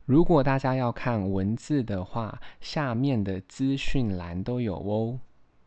如果大家要看文字的話，下面的資訊欄都有哦。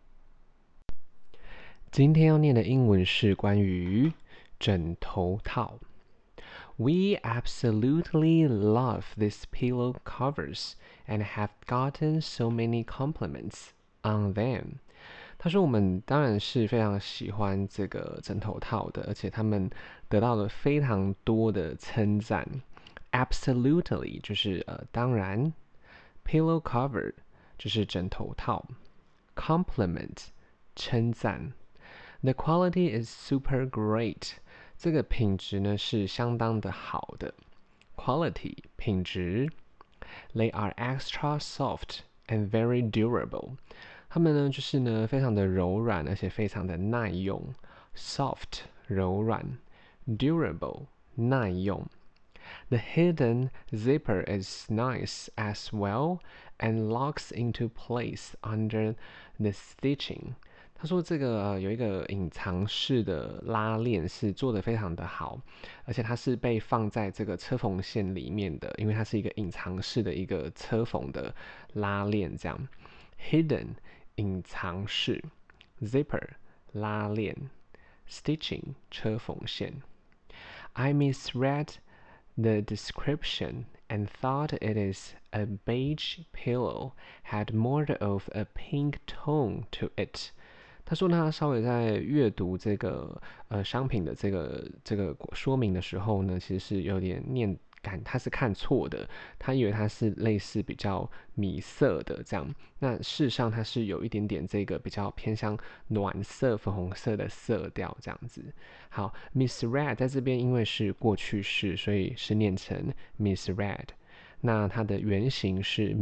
今天要念的英文是關於枕頭套。We absolutely love these pillow covers and have gotten so many compliments on them. 他說我們當然是非常喜歡這個枕頭套的，而且他們得到了非常多的稱讚。Absolutely 就是當然 ，pillow cover 就是枕頭套 ，compliment 稱讚 ，the quality is super great 這個品質呢是相當的好的 ，quality 品質 ，they are extra soft and very durable 它們呢就是呢非常的柔軟，而且非常的耐用 ，soft 柔軟 ，durable 耐用。The hidden zipper is nice as well and locks into place under the stitching. 他說這個有一個隱藏式的拉鏈是做得非常的好，而且它是被放在這個車縫線裡面的，因為它是一個隱藏式的一個車縫的拉鏈這樣。Hidden 隱藏式 ，zipper 拉鏈 ，stitching 車縫線。I misread the description and thought it is a beige pillow had more of a pink tone to it. 他說他稍微在閱讀這個商品的這個說明的時候呢，其實是有點念感，他是看錯的，他以為它是類似比較米色的這樣，那事實上它是有一點點這個比較偏向暖色、粉紅色的色調這樣子。好 ，misread 在這邊因為是過去式，所以是念成 misread。那它的原型是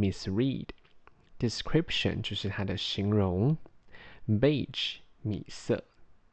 misread。description 就是它的形容 ，beige 米色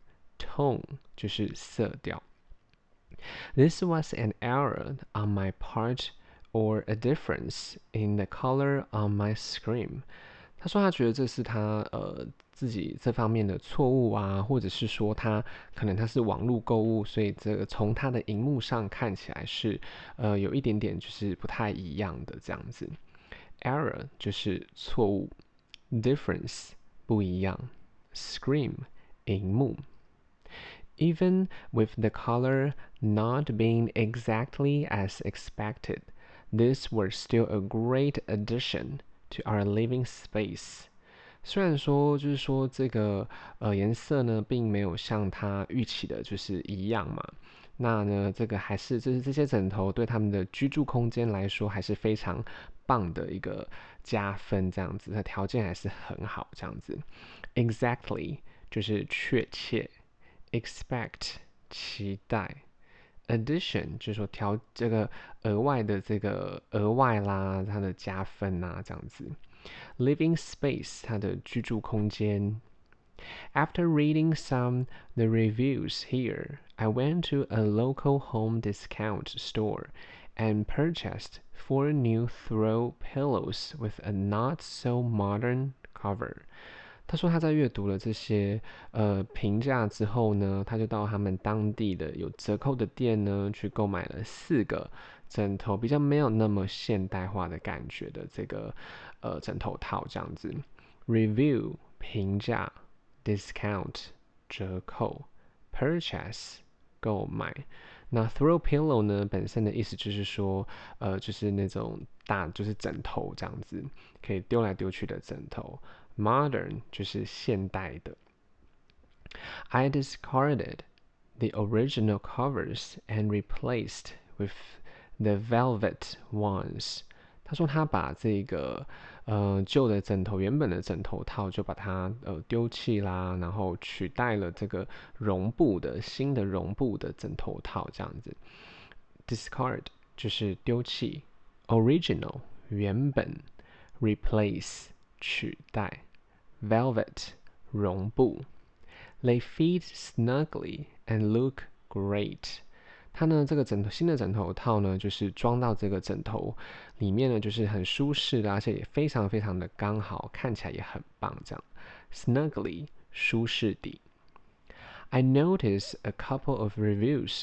，tone 就是色調。This was an error on my part or a difference in the color on my screen. 他說他覺得這是他自己這方面的錯誤啊，或者是說他可能他是網絡購物，所以這個從他的熒幕上看起來是有一點點就是不太一樣的這樣子。Error 就是錯誤 ，difference 不一樣 ，screen 熒幕。Even with the color not being exactly as expected, these were still a great addition to our living space. 雖然說就是說這個顏色呢並沒有像他預期的就是一樣嘛，那呢這個還是就是這些枕頭對他們的居住空間來說還是非常棒的一個加分，這樣子它條件還是很好這樣子。Exactly 就是確切。expect 期待 addition 就是說這個額外的這個額外啦，它的加分啊這樣子。living space 它的居住空間。After reading some the reviews here, I went to a local home discount store and purchased 4 new throw pillows with a not so modern cover.他說他在閱讀了這些評價之後呢，他就到他們當地的有折扣的店呢，去購買了4個枕頭，比較沒有那麼現代化的感覺的這個枕頭套這樣子。Review 評價 ，discount 折扣 ，purchase 購買。那 throw pillow 呢，本身的意思就是說，就是那種就是枕頭這樣子，可以丟來丟去的枕頭。Modern 就是現代的。I discarded the original covers and replaced with the velvet ones. 他說他把這個舊的枕頭，原本的枕頭套就把它丟棄啦，然後取代了這個絨布的新的絨布的枕頭套這樣子。Discard 就是丟棄 ，original 原本 ，replace 取代。Velvet 絨布 ，They fit snugly and look great。它呢，這個新的枕頭套呢，就是裝到這個枕頭裡面呢，就是很舒適的，而且也非常非常的剛好，看起來也很棒。這樣 ，snugly 舒適地。I noticed a couple of reviews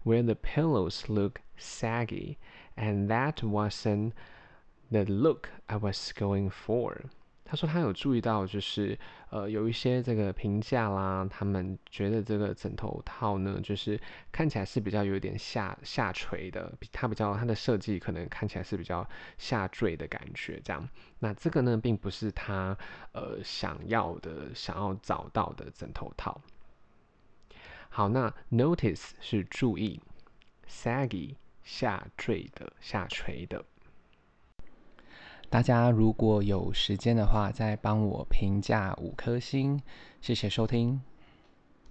where the pillows look saggy, and that wasn't the look I was going for. 他說他有注意到，就是有一些這個評價啦，他們覺得這個枕頭套呢，就是看起來是比較有點下垂的，它的設計可能看起來是比較下墜的感覺，這樣。那這個呢，並不是他想要找到的枕頭套。好，那 notice 是注意 ，saggy 下墜的、下垂的。大家如果有時間的話，再幫我評價5顆星，謝謝收聽。